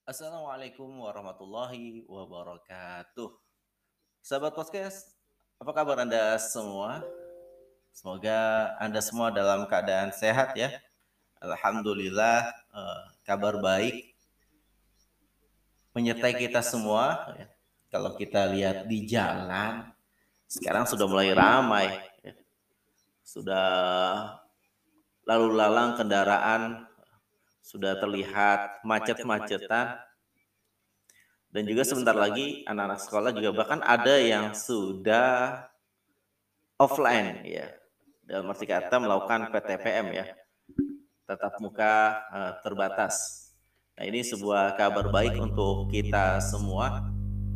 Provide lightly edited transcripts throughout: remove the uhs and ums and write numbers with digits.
Assalamualaikum warahmatullahi wabarakatuh. Sahabat podcast, apa kabar Anda semua? Semoga Anda semua dalam keadaan sehat ya. Alhamdulillah, kabar baik menyertai kita semua. Ya. Kalau kita lihat di jalan, sekarang sudah mulai ramai. Ya. Sudah lalu lalang kendaraan, sudah terlihat macet-macetan. Dan juga sebentar lagi anak-anak sekolah juga bahkan ada yang sudah offline ya. Dalam arti kata melakukan PTPM ya. Tatap muka terbatas. Nah, ini sebuah kabar baik untuk kita semua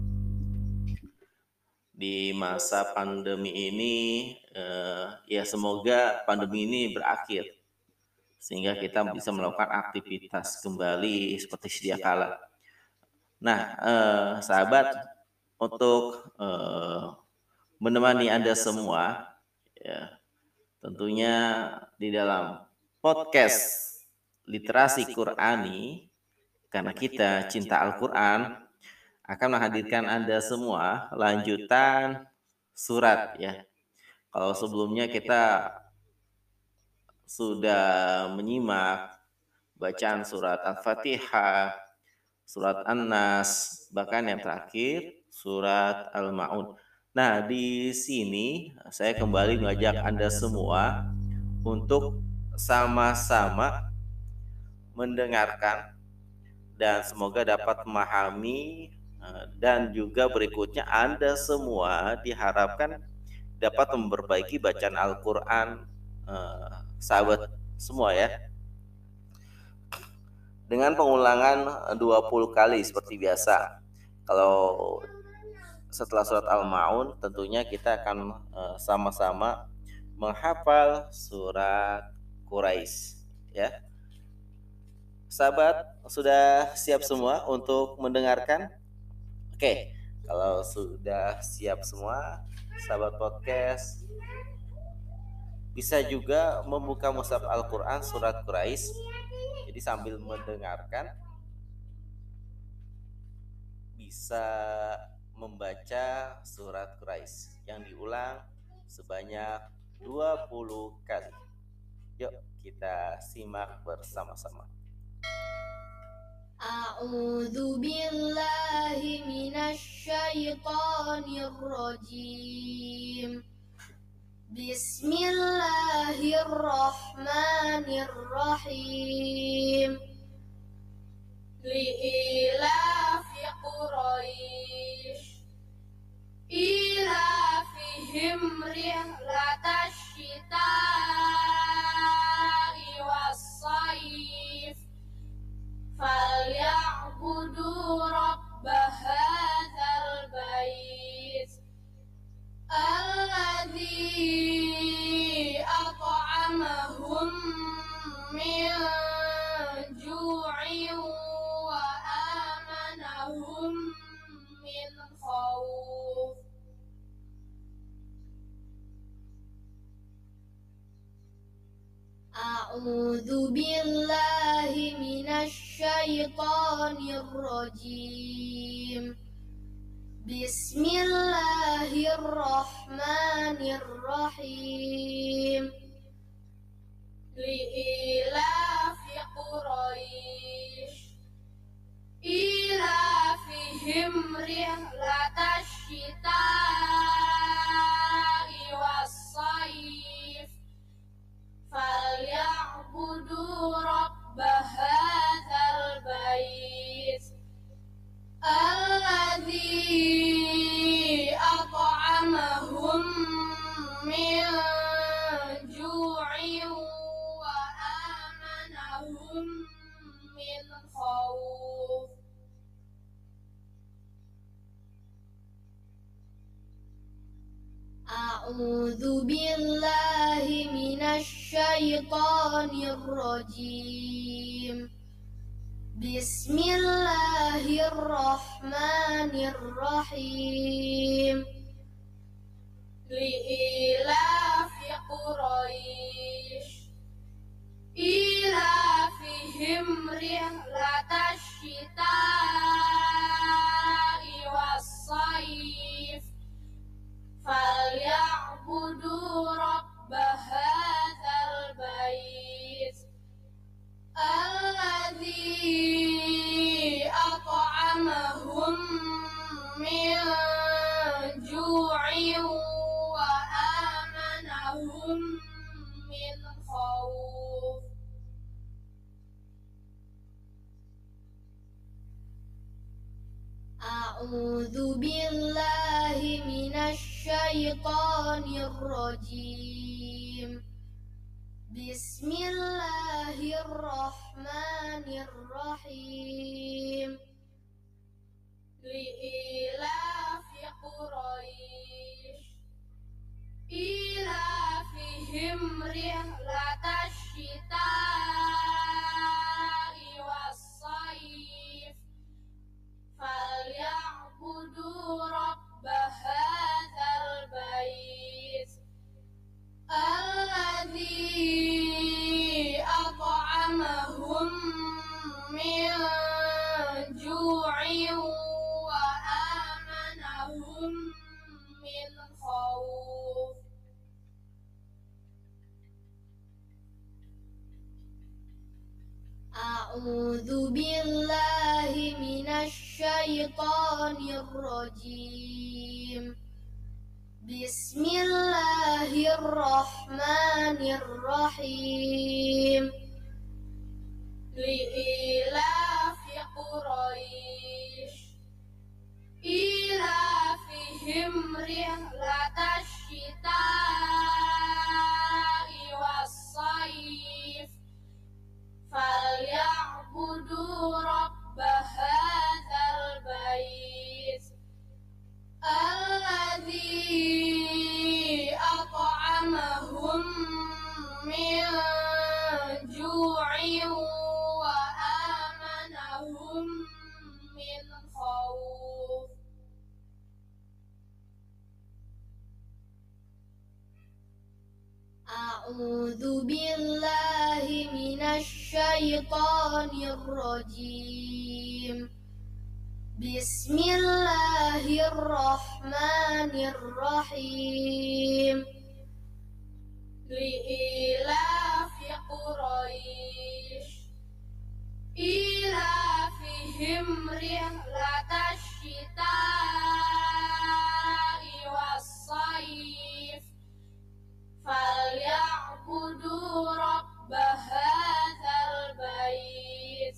di masa pandemi ini. Ya semoga pandemi ini berakhir sehingga kita bisa melakukan aktivitas kembali seperti sedia kala. Nah, sahabat, untuk menemani Anda semua, ya, tentunya di dalam podcast Literasi Qur'ani, karena kita cinta Al-Quran, akan menghadirkan Anda semua lanjutan surat ya. Kalau sebelumnya kita sudah menyimak bacaan surat Al-Fatihah, surat An-Nas, bahkan yang terakhir surat Al-Ma'un. Nah, di sini saya kembali mengajak Anda semua untuk sama-sama mendengarkan dan semoga dapat memahami dan juga berikutnya Anda semua diharapkan dapat memperbaiki bacaan Al-Qur'an sahabat semua ya. Dengan pengulangan 20 kali seperti biasa. Kalau setelah surat Al-Ma'un tentunya kita akan sama-sama menghafal surat Quraisy ya. Sahabat sudah siap semua untuk mendengarkan? Oke, kalau sudah siap semua, sahabat podcast bisa juga membuka mushaf Al-Qur'an surat Quraisy. Jadi sambil mendengarkan bisa membaca surat Quraisy yang diulang sebanyak 20 kali. Yuk kita simak bersama-sama. A'udzu billahi minasy syaithanir rajim. Bismillahirrahmanirrahim. Li'ilafi Quraisy ilafihim rihlatash syita'i was-sayf falyabudu rabba hadzal bait alladzi at'amahum min ju'in wa amanahum min khauf. A'udzu billahi minasy syaithanir rajim. Bismillahirrahmanirrahim. Li'ilafi Quraisy ilafihim rihlatash syita'i was-sayf falyabudu rabba hadzal bait alladzi at'amahum min ju'in wa amanahum min khauf. A'udzu billahi minasy syaithanir rajim. Bismillahirrahmanirrahim. Li'ilafi Quraisy ilafihim rihlatash syita'i أعوذ بالله من الشيطان الرجيم. بسم الله الرحمن الرحيم. لإيلاف قريش إيلافهم رحلة الشتاء والصيف فليعبدوا رب هذا البيت الذي أطعمهم من جوع وآمنهم من خوف. أعوذ بالله من الشيطان الرجيم. بسم الله الرحمن الرحيم. لإيلاف قريش إيلافهم رحلة الشتاء والصيف فليعبدوا رب هذا البيت الذي أطعمهم من جوع وآمنهم من خوف. أعوذ بالله من الشيطان الرجيم. بسم الله الرحمن الرحيم. لإيلاف قريش إيلافهم رحلة الشتاء والصيف فليعبدوا رب هذا البيت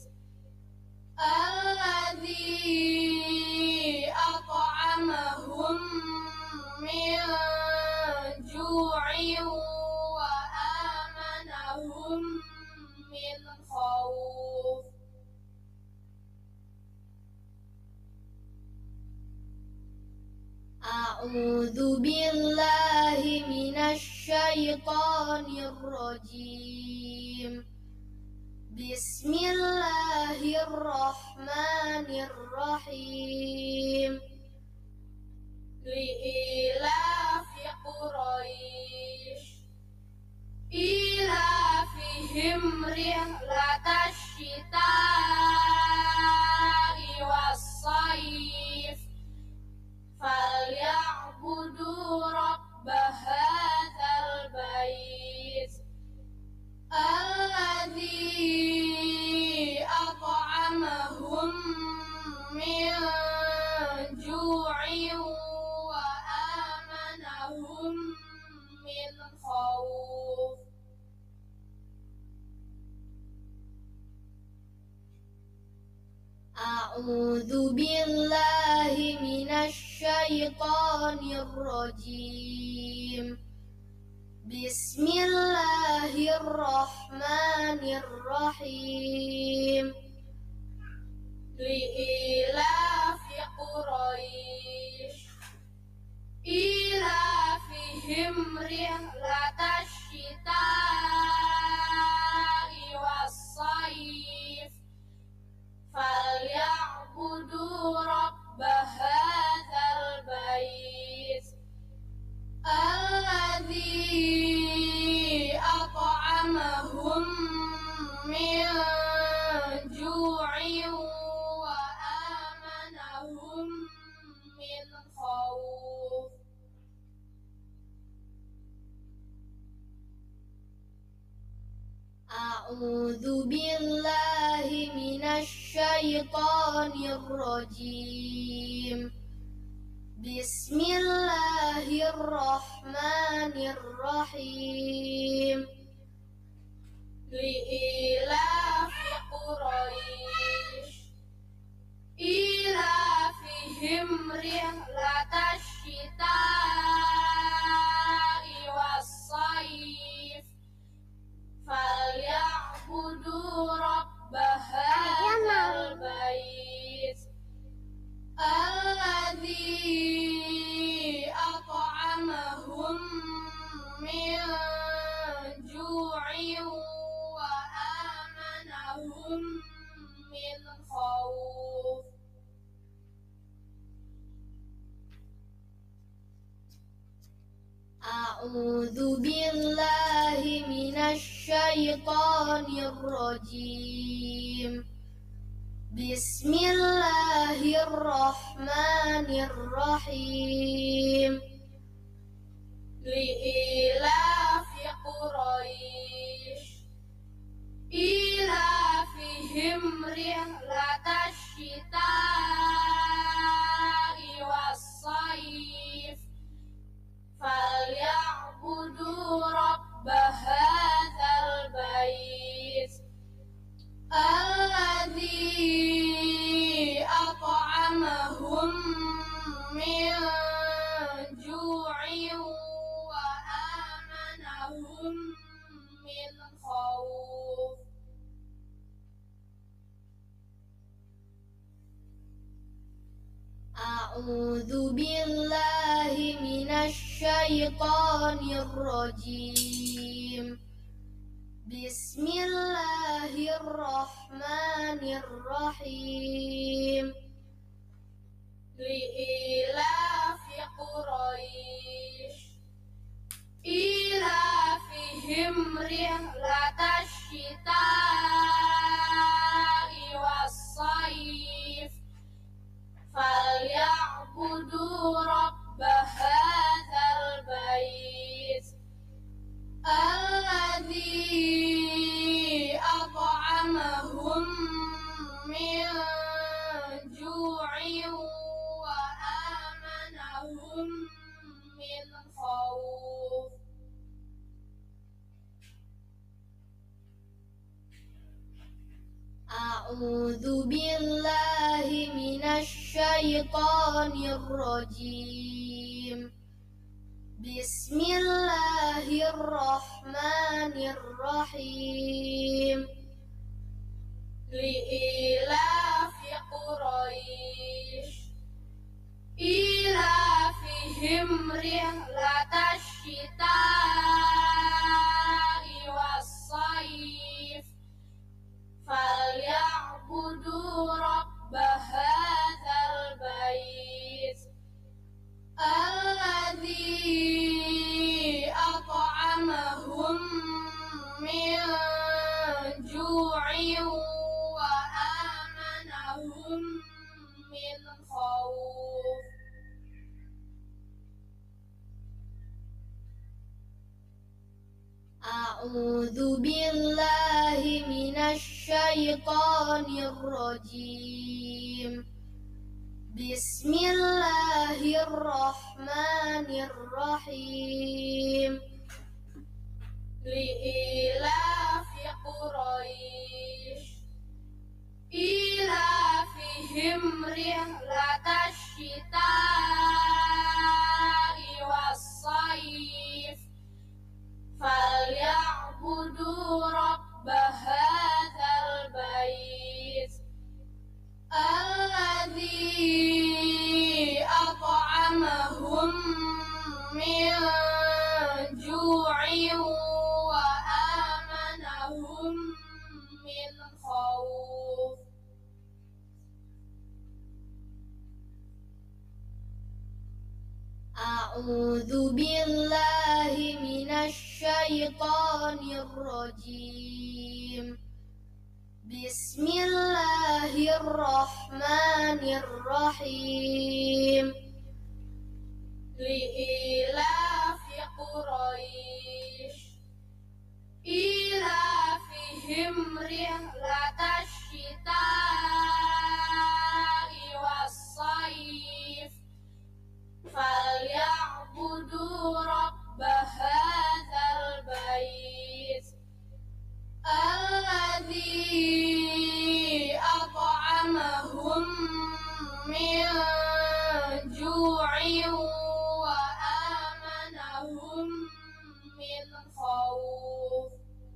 الذي أطعمهم من جوع وآمنهم من خوف. أعوذ بالله من الشيطان الرجيم. بسم الله الرحمن الرحيم. لإيلاف قريش إيلافهم رحلة الشتاء والصيف فليعبدوا رب هذا البيت الذي أطعمهم من جوع وآمنهم من خوف. أعوذ بالله من الشيطان الرجيم. بسم الله الرحمن الرحيم. لإيلاف قريش إيلافهم رحلة الشتاء والصيف فليعبدوا رب هذا البيت الذي أطعمهم من جوع وآمنهم من خوف. أعوذ بالله من الشيطان الرجيم. بسم الله الرحمن الرحيم. لإيلاف قريش إيلافهم خوف أعوذ بالله من الشيطان الرجيم بسم الله الرحمن الرحيم لإيلاف قريش إيلافهم رحلة الشتاء والصيف فليعبدوا رب هذا البيت الذي أطعمهم من جوع وآمنهم من خوف أعوذ بالله من الشيطان الرجيم بسم الله الرحمن الرحيم لإيلاف قريش إيلافهم رحلة الشتاء والصيف فليعبدوا رب هذا البيت الذي أطعمهم من جوع وآمنهم من خوف أعوذ بالله من الشيطان الرجيم بسم الله الرحمن الرحيم لإيلاف قريش إيلافهم رحلة الشتاء والصيف فليعبدوا رب هذا البيت الذي أطعمهم من جوع وآمنهم من خوف أعوذ بالله من الشيطان الرجيم بسم الله الرحمن الرحيم لإيلاف قريش إيلافهم رحلة الشتاء والصيف فليعبدوا رب هذا البيت الذي أطعمهم من جوع وآمنهم من خوف أعوذ بالله من الشيطان الرجيم بسم الله الرحمن الرحيم لإيلاف قريش إيلافهم رحلة الشتاء والصيف فليعبدوا رب هذا البيت الذي أطعمهم من جوع وآمنهم من خوف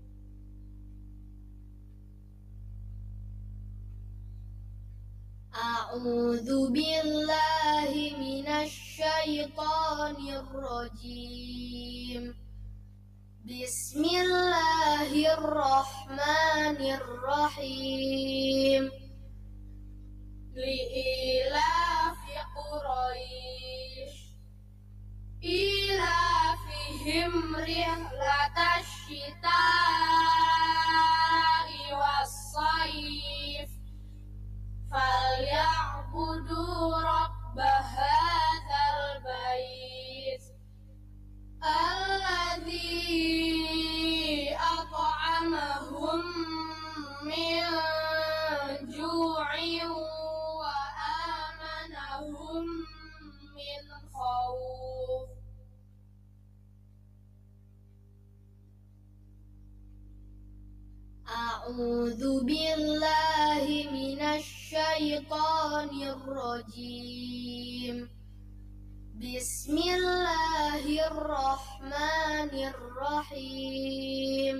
أعوذ بالله من الشيطان الرجيم بسم الله الرحمن الرحيم li'ilafi Quraisy ilafihim rihlatash syita'i was-sayf falyabudu rabb hadzal bait alladzi at'amahum min ju'in wa amanahum min khauf. A'udzu billahi minasy syaithanir rajim. Bismillahirrahmanirrahim.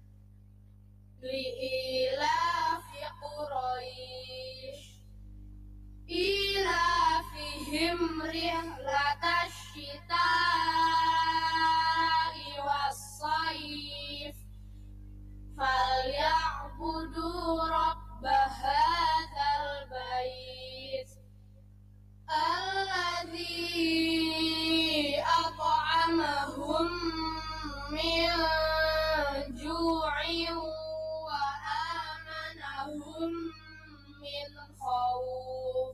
Li'ilafi Quraisy ilafihim rihlatash syita'i was-sayf falyabudu rabb hadzal bait alladzi at'amahum min ju'in wa amanahum min khauf.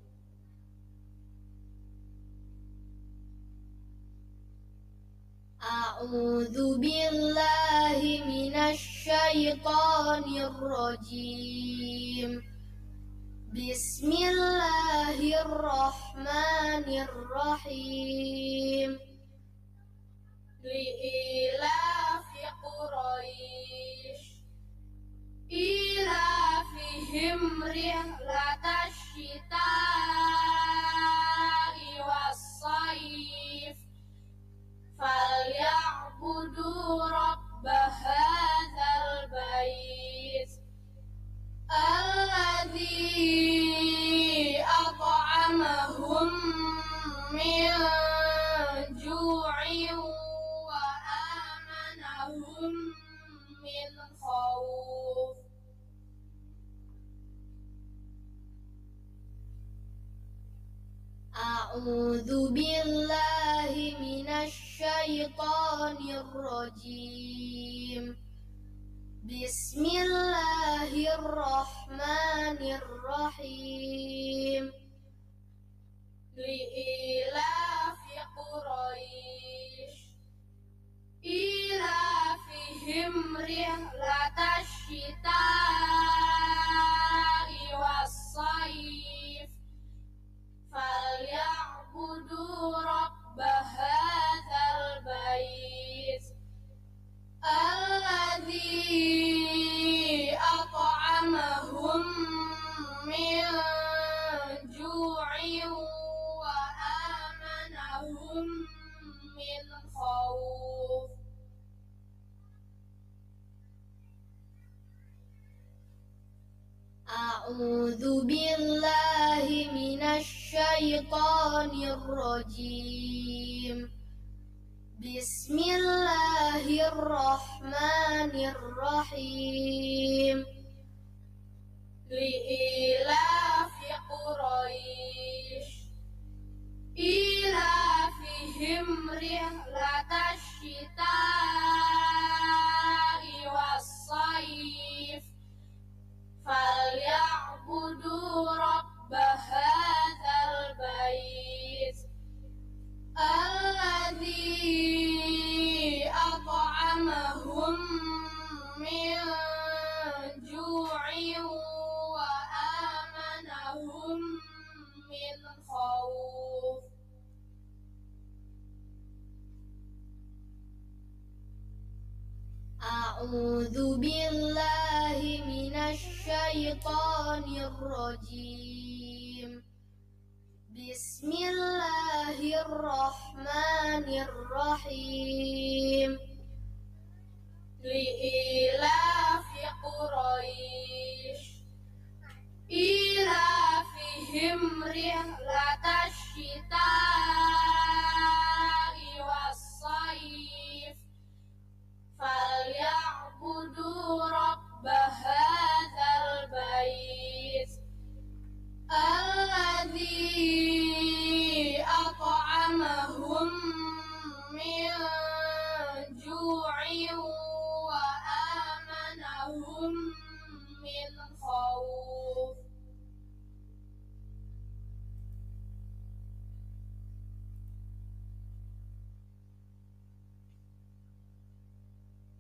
A'udzu billahi minasy syaithanir rajim. Bismillahirrahmanirrahim. Li'ilafi Quraisy ilafihim rihlatash syita'i was-sayf falyabudu rabb hadzal bait alladzi at'amahum min ju'in wa amanahum min khauf. A'udzu billahi minasy syaithanir rajim. Bismillahirrahmanirrahim. Li'ilafi Quraisy ilafihim rihlatash syita'i was-sayf falyabudu rabb hadzal bait alladzi at'amahum min ju'in wa amanahum min khauf. A'udzu billahi minasy syaithanir rajim. Bismillahirrahmanirrahim. Li'ilafi Quraisy ilafihim rihlatash syita'i was-sayf falyabudu rabb hadzal bait alladzi at'amahum min ju'in wa amanahum min khauf. A'udzu billahi minasy syaithanir rajim. Bismillahirrahmanirrahim. Li'ilafi Quraisy ilafihim rihlatash syita'i was-sayf falyabudu rabb hadzal bait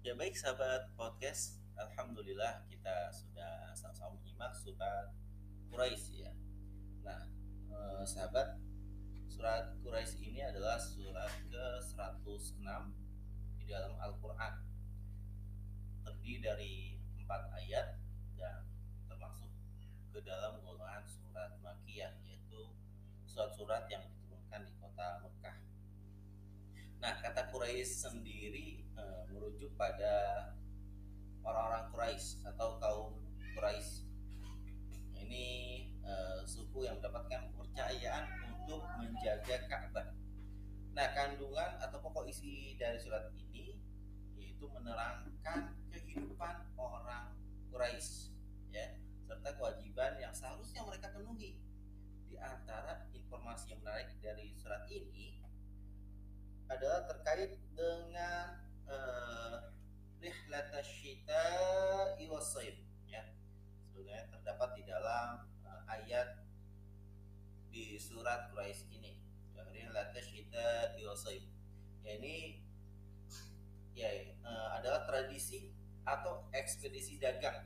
Ya baik sahabat podcast, alhamdulillah kita sudah sama-sama menyimak surat Quraisy ya. Nah, sahabat, surat Quraisy ini adalah surat ke-106 di dalam Al-Qur'an. Terdiri dari 4 ayat dan termasuk ke dalam golongan surat Makkiyah, yaitu surat-surat yang diturunkan di kota Mekah. Nah, kata Quraisy sendiri merujuk pada orang-orang Quraisy atau kaum Quraisy. Ini suku yang mendapatkan kepercayaan untuk menjaga Ka'bah. Nah, kandungan atau pokok isi dari surat ini yaitu menerangkan kehidupan orang Quraisy, ya, serta kewajiban yang seharusnya mereka penuhi. Di antara informasi yang menarik dari surat ini adalah terkait dengan rihlat asyita'i was-shaif, ya. Sebenarnya terdapat di dalam ayat di surat Quraisy ini, rihlat asyita'i was-shaif. Ya, ini ya adalah tradisi atau ekspedisi dagang.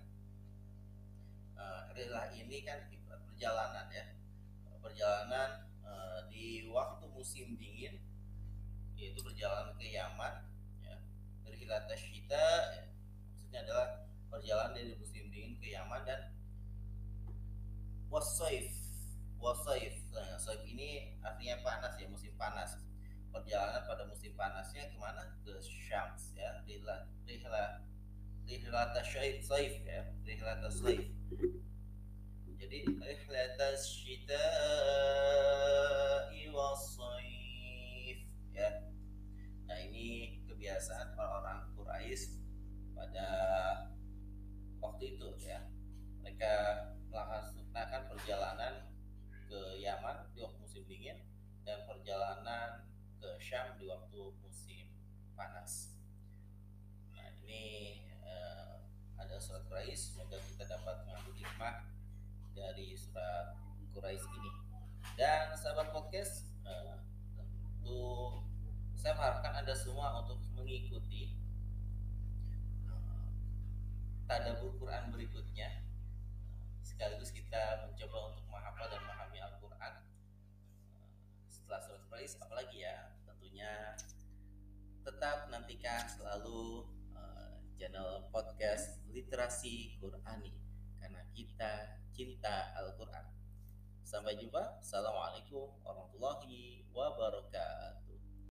Rihlah ini kan perjalanan, ya, perjalanan di waktu musim dingin, yaitu perjalanan ke Yaman, ya. Rihlat asyita ya, maksudnya adalah perjalanan dari musim dingin ke Yaman, dan wasaif. Nah, saif ini artinya panas, ya, musim panas. Perjalanan pada musim panasnya kemana? Ke Syams, ya. Rihlat saif, ya, rihlat saif. Jadi rihlat asyita'i was-shaif, ya. Nah, ini kebiasaan orang-orang Quraisy pada waktu itu, ya. Mereka melaksanakan perjalanan ke Yaman di waktu musim dingin dan perjalanan ke Syam di waktu musim panas. Nah, ini ada surat Quraisy. Semoga kita dapat mengambil hikmah dari surat Quraisy ini. Dan sahabat podcast, tentu saya mengharapkan Anda semua untuk mengikuti tadabbur Quran berikutnya. Sekaligus kita mencoba untuk menghafal dan memahami Al-Quran setelah surat Quraisy. Apalagi, ya, tentunya tetap nantikan selalu channel podcast Literasi Qurani, karena kita cinta Al-Quran. Sampai jumpa. Assalamualaikum warahmatullahi wabarakatuh.